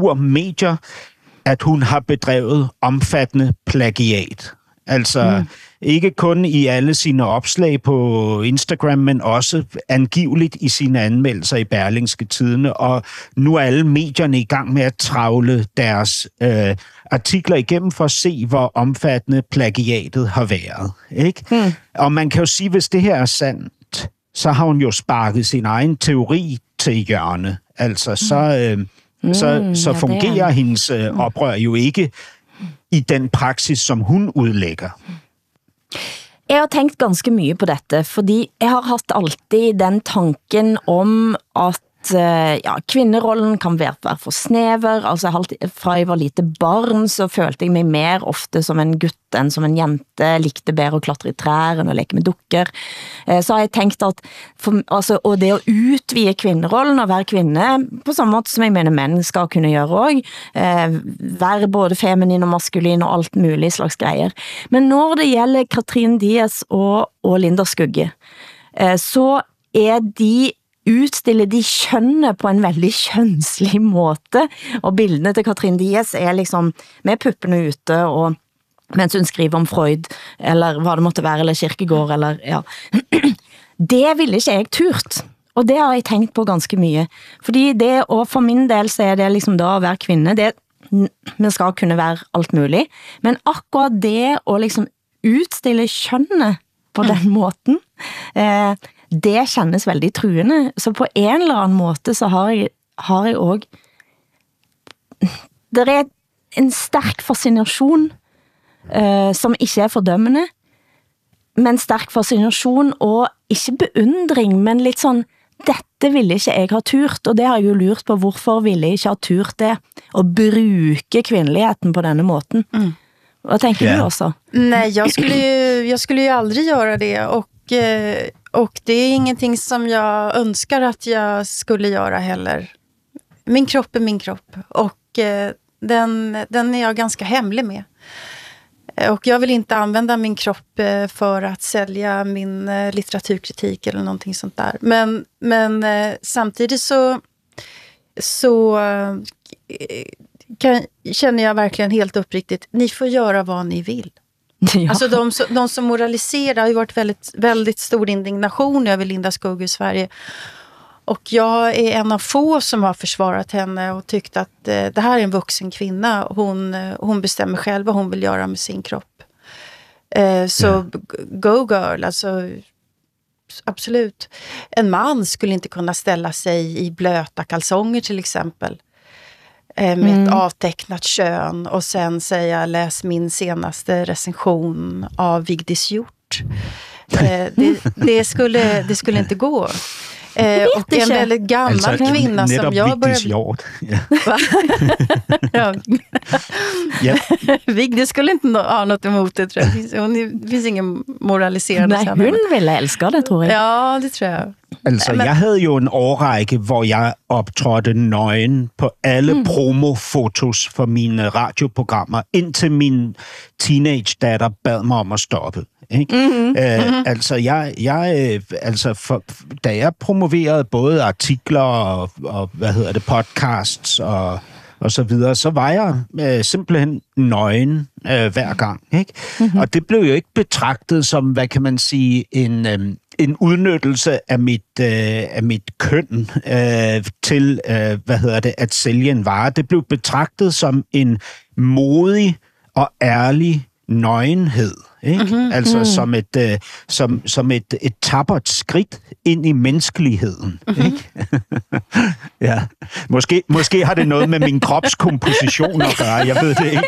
kulturmedier, at hun har bedrevet omfattende plagiat. Altså, Ikke kun i alle sine opslag på Instagram, men også angiveligt i sine anmeldelser i Berlingske Tidende. Og nu er alle medierne i gang med at travle deres artikler igennem for at se, hvor omfattende plagiatet har været. Ikke? Og man kan jo sige, hvis det her er sandt, så har hun jo sparket sin egen teori til hjørne. Altså, så fungerer hendes oprør jo ikke i den praksis, som hun udlægger. Jeg har tænkt ganske mye på dette, fordi jeg har haft alltid den tanken om at kvinnerollen kan være for snever, altså fra jeg var lite barn, så følte jeg mig mer ofte som en gutt enn som en jente, likte bedre å klatre i trær enn å leke med dukker. Så har jeg tænkt at, og det å utvide kvinnerollen og være kvinne, på samme måte som jeg mener menn skal kunne gjøre også, være både feminin og maskulin og alt mulig slags greier. Men når det gjelder Katrin Diaz og Linda Skugge, så de utstille de kjønne på en veldig kjønnslig måte, og bildene til Katrin Diaz liksom med puppene ute, og mens hun skriver om Freud, eller hva det måtte være, eller Kierkegaard, eller ja. Det ville ikke jeg turt, og det har jeg tenkt på ganske mye, fordi det, og for min del så det liksom da å være kvinne, man skal kunne være alt mulig, men akkurat det å liksom utstille kjønne på den måten, det kjennes veldig truende. Så på en eller annen måte så har jeg også det en sterk fascinasjon som ikke fordømmende, men sterk fascinasjon og ikke beundring, men litt sånn, dette ville ikke jeg ha turt, og det har jeg jo lurt på, hvorfor ville jeg ikke ha turt det, å bruke kvinneligheten på denne måten. Vad tänker du också? Nej, jag skulle ju aldrig göra det, och det är ingenting som jag önskar att jag skulle göra heller. Min kropp är min kropp, och den är jag ganska hemlig med. Och jag vill inte använda min kropp för att sälja min litteraturkritik eller någonting sånt där. Men samtidigt så känner jag verkligen helt uppriktigt, ni får göra vad ni vill. Ja. Alltså de som moraliserar har ju varit väldigt, väldigt stor indignation över Linda Skugge i Sverige. Och jag är en av få som har försvarat henne och tyckt att det här är en vuxen kvinna. Hon bestämmer själv vad hon vill göra med sin kropp. Go girl, alltså absolut. En man skulle inte kunna ställa sig i blöta kalsonger till exempel. Med ett avtecknat kön och sen säga läs min senaste recension av Vigdis Hjort. Det skulle inte gå. Och en väldigt gammal kvinna som jag började... Vigdis skulle inte ha något emot det, tror jag. Det finns ingen moraliserende. Nej, hun ville elske det, tror jeg. Ja, det tror jeg. Altså, jeg havde jo en årrække, hvor jeg optrådte nøgen på alle promofotos for mine radioprogrammer, indtil min teenage-datter bad mig om at stoppe. Ikke? Altså, da jeg promoverede både artikler og podcasts og så videre, så var jeg simpelthen nøgen hver gang. Ikke? Og det blev jo ikke betragtet som, hvad kan man sige, en udnyttelse af mit køn til, at sælge en vare. Det blev betragtet som en modig og ærlig nøgenhed. Ikke? Altså som et tappert skridt ind i menneskeligheden. Ikke? Ja. Måske har det noget med min kropskomposition at gøre, jeg ved det ikke.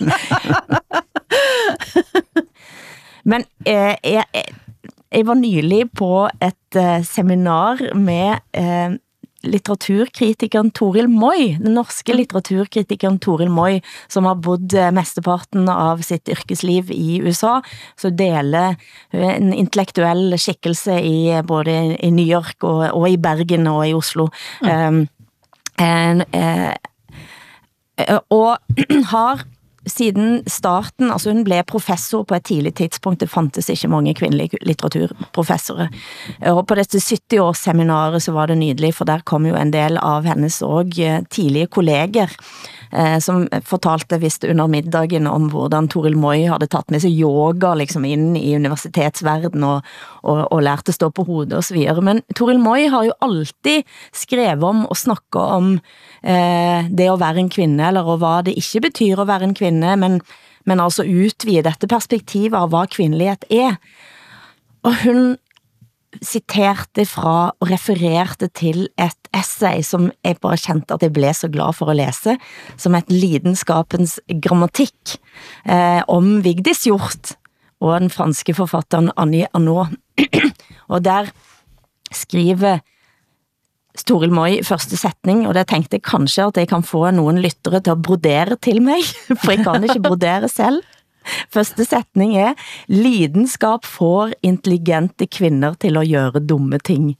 Men jeg var nylig på et seminar med litteraturkritikeren Toril Moi, den norske litteraturkritikeren Toril Moi, som har bodd mesteparten av sitt yrkesliv i USA, så deler en intellektuell skikkelse i både i New York og i Bergen og i Oslo. Og har siden starten, altså hun blev professor på et tidligt tidspunkt, det fantes ikke mange kvindelige litteraturprofessorer, og på dette 70-årsseminaret så var det nydelig, for der kom jo en del av hennes og tidlige kolleger, som fortalte vist under middagen om hvordan Toril Moi hadde tatt med seg yoga liksom inn i universitetsverden og lærte stå på hodet og så videre. Men Toril Moi har jo alltid skrevet om og snakket om det å være en kvinne, eller hva det ikke betyr å være en kvinne, men altså utvide dette perspektivet av hva kvinnelighet er. Og hun citerte fra og refererte til et essay som jeg bare kjente at jeg ble så glad for å lese, som et lidenskapens grammatikk om Vigdis Hjorth og den franske forfatteren Annie Ernaux. Og der skriver Toril Moi første setning, og det tenkte jeg kanskje at jeg kan få noen lyttere til å brodere til meg, for jeg kan ikke brodere selv. Første setning er, lidenskap får intelligente kvinner til å gjøre dumme ting.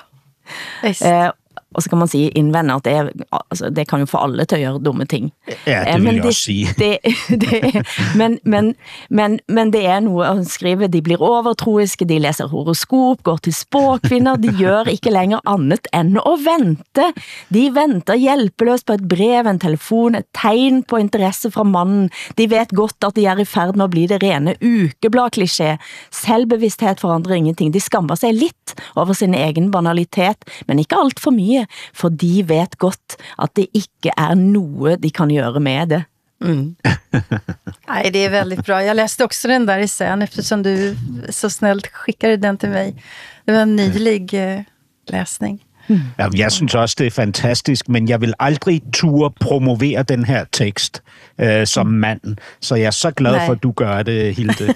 Og så kan man si innvende at det kan jo få alle til å gjøre dumme ting. Ja, det vil jeg også si. Men det er noe å skrive, de blir overtroiske, de leser horoskop, går til spåkvinner, de gjør ikke lenger annet enn å vente. De venter hjelpeløst på et brev, en telefon, et tegn på interesse fra mannen. De vet godt at de er i ferd med å bli det rene ukeblad-klisjé. Selvbevissthet forandrer ingenting. De skammer seg litt over sin egen banalitet, men ikke alt for mye, for de vet godt at det ikke er noe de kan göra med det. Nej, det är väldigt bra. Jag läste också den där essän eftersom du så snällt skickade den till mig. Det var en nylig läsning. Ja, jeg synes også, det er fantastisk, men jeg vil aldrig turde promovere den her tekst som mand. Så jeg er så glad for, at du gør det, Hilde.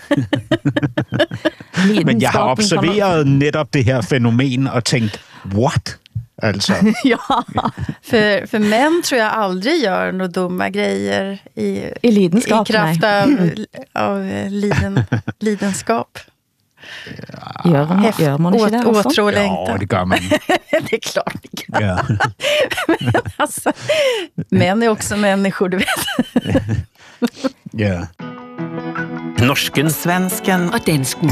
Men jeg har observeret netop det her fænomen og tænkt, what? Altså. Ja. För män tror jag aldrig gör några dumma grejer i kraft av lidenskap. Gör man inte det? Åtrålängtan. Ja, det gør man. Det är klart det gör. Ja. Men alltså, män är också människor, du vet. Ja. Norsken, svensken og dansken.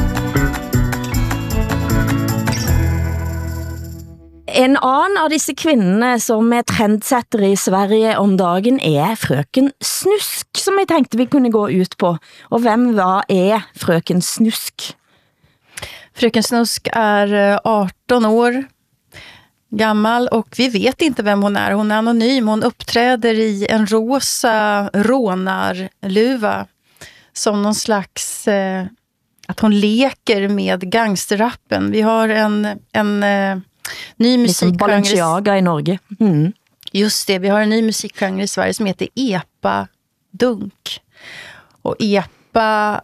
En annen av disse kvinnerne som er trendsettere i Sverige om dagen er frøken Snusk, som jeg tenkte vi kunne gå ut på. Og hvem er frøken Snusk? Fröken Snusk är 18 år gammal och vi vet inte vem hon är. Hon är anonym. Hon uppträder i en rosa rånarluva som någon slags att hon leker med gangsterrappen. Vi har en ny musikgenre Balenciaga i Norge. Just det, vi har en ny musikgenre i Sverige som heter epa-dunk. Och epa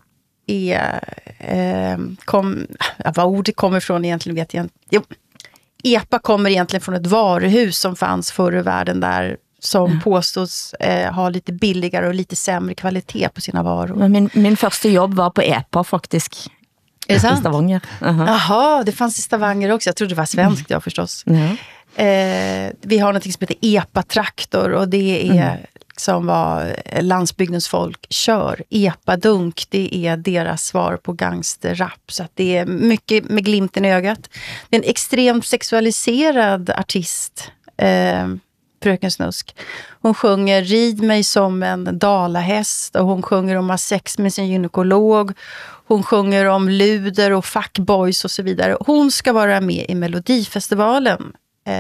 vad ordet kommer ifrån egentligen vet jag inte. Jo, epa kommer egentligen från ett varuhus som fanns förr i världen där som påstås ha lite billigare och lite sämre kvalitet på sina varor. Min första jobb var på epa faktiskt. Är det sant? I Stavanger. Jaha, det fanns i Stavanger också. Jag trodde det var svenskt, ja förstås. Vi har något som heter epa-traktor och det är som vad landsbygdens folk kör. Epa-dunk, det är deras svar på gangsterrap. Så att det är mycket med glimten i ögat. Det är en extremt sexualiserad artist, fröken Snusk. Hon sjunger rid mig som en dalahäst och hon sjunger om att ha sex med sin gynekolog. Hon sjunger om luder och fuckboys och så vidare. Hon ska vara med i Melodifestivalen.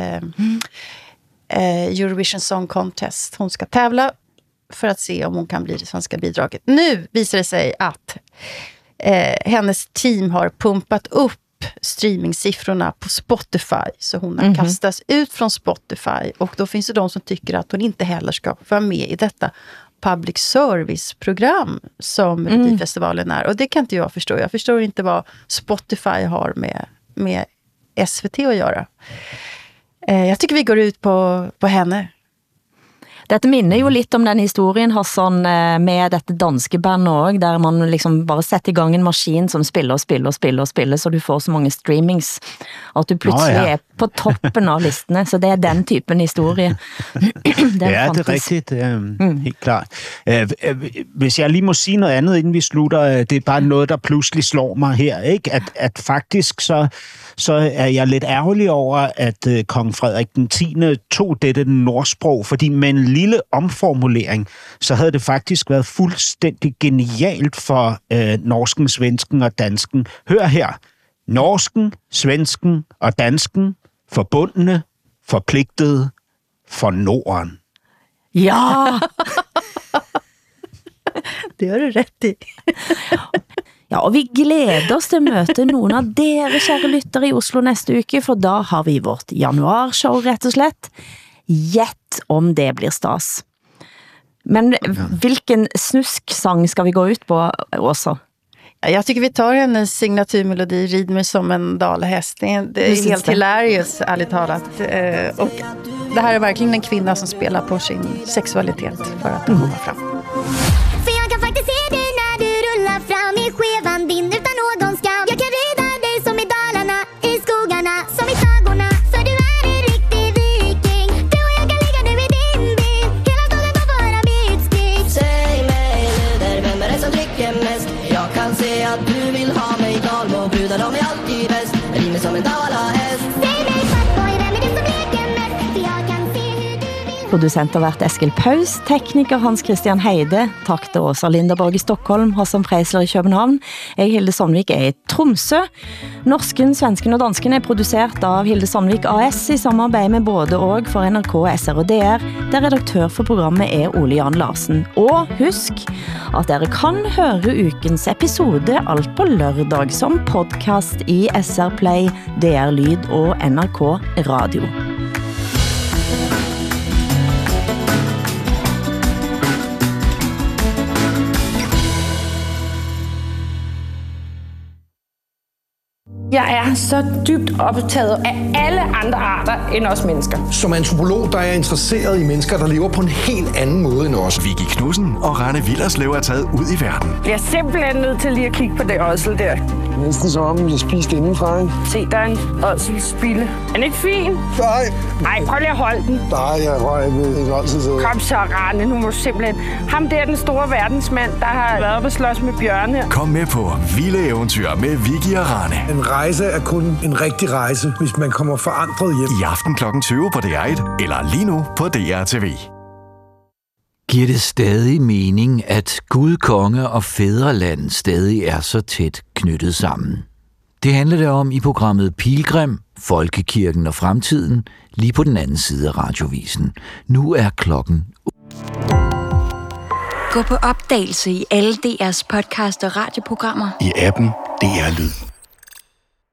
Eurovision Song Contest. Hon ska tävla för att se om hon kan bli det svenska bidraget. Nu visar det sig att hennes team har pumpat upp streamingsiffrorna på Spotify, så hon har kastats ut från Spotify, och då finns det de som tycker att hon inte heller ska vara med i detta public service-program som Melodifestivalen är, och det kan inte jag förstå. Jag förstår inte vad Spotify har med SVT att göra. Jag tycker vi går ut på henne. Dette minner jo litt om den historien Hassan med dette danske bandet også, der man liksom bare setter i gang en maskin som spiller, så du får så mange streamings, at du plutselig på toppen af listene, så det er den typen historie. Det er rigtigt. Helt klart. Hvis jeg lige må sige noget andet, inden vi slutter, det er bare noget, der pludselig slår mig her, ikke? At faktisk så er jeg lidt ærgerlig over, at kong Frederik den 10. tog dette nordsprog, fordi med en lille omformulering, så havde det faktisk været fuldstændig genialt for norsken, svensken og dansken. Hør her. Norsken, svensken og dansken, forbundne, forpligtede for Norden. Ja! Det har du rätt i. Ja, og vi glæder os til at møte nogle af dere, kære lyttere, i Oslo næste uke, for da har vi vårt januarshow, rett og slett. Gjett om det blir stas. Men hvilken snusk-sang skal vi gå ut på også? Jag tycker vi tar hennes signaturmelodi Rid mig som en dalahäst. Det är helt hilarious, ärligt talat. Och det här är verkligen en kvinna som spelar på sin sexualitet för att komma fram. För jag kan faktiskt se dig när du rullar fram i skevan din utan någon skam. Jag kan rida dig som i Dalarna, i skogarna, som i tagorna. För du är en riktig viking. Du och jag kan ligga nu i din bil. Hela staden får höra mitt skrik. Säg mig Luder, vem är det som dricker mest? Jag kan se att du vill ha mig Dalmo. Brudar de är alltid bäst. Rid mig som en dalahäst. Säg mig fuckboy, vem är det som leker mest? För jag kan se hur du vill. Producent har været Eskil Paus, tekniker Hans Christian Heide, takk til Åsa Linderborg i Stockholm, Hassan Preisler i København. Jeg, Hilde Sandvik, er i Tromsø. Norsken, svensken og dansken er produceret av Hilde Sandvik AS i samarbeid med både og for NRK, SR og DR, der redaktør for programmet er Ole Jan Larsen. Og husk at dere kan høre ukens episode alt på lørdag som podcast i SR Play, DR Lyd og NRK Radio. Jeg er så dybt optaget af alle andre arter end os mennesker. Som antropolog, der er jeg interesseret i mennesker, der lever på en helt anden måde end os. Vicky Knudsen og Rane Willerslev er taget ud i verden. Jeg er simpelthen nødt til lige at kigge på det ådsel der. Næsten som om, jeg spiste indenfra, ikke? Se, der er en ådselspille. Er den ikke fin? Nej. Nej, prøv lige at holde den. Nej, jeg rører ikke ådsel. Kom så, Rane, nu må du simpelthen. Ham der, den store verdensmand, der har været oppe og slås med bjørne. Kom med på vilde eventyr med Vicky og Rane. En rejse er kun en rigtig rejse, hvis man kommer forandret hjem. I aften kl. 20 på DR1, eller lige nu på DR TV. Giver det stadig mening, at Gud, konge og fædreland stadig er så tæt knyttet sammen? Det handler det om i programmet Pilgrim, Folkekirken og Fremtiden, lige på den anden side af radiovisen. Nu er klokken. Gå på opdagelse i alle DR's podcast og radioprogrammer. I appen DR Lyd.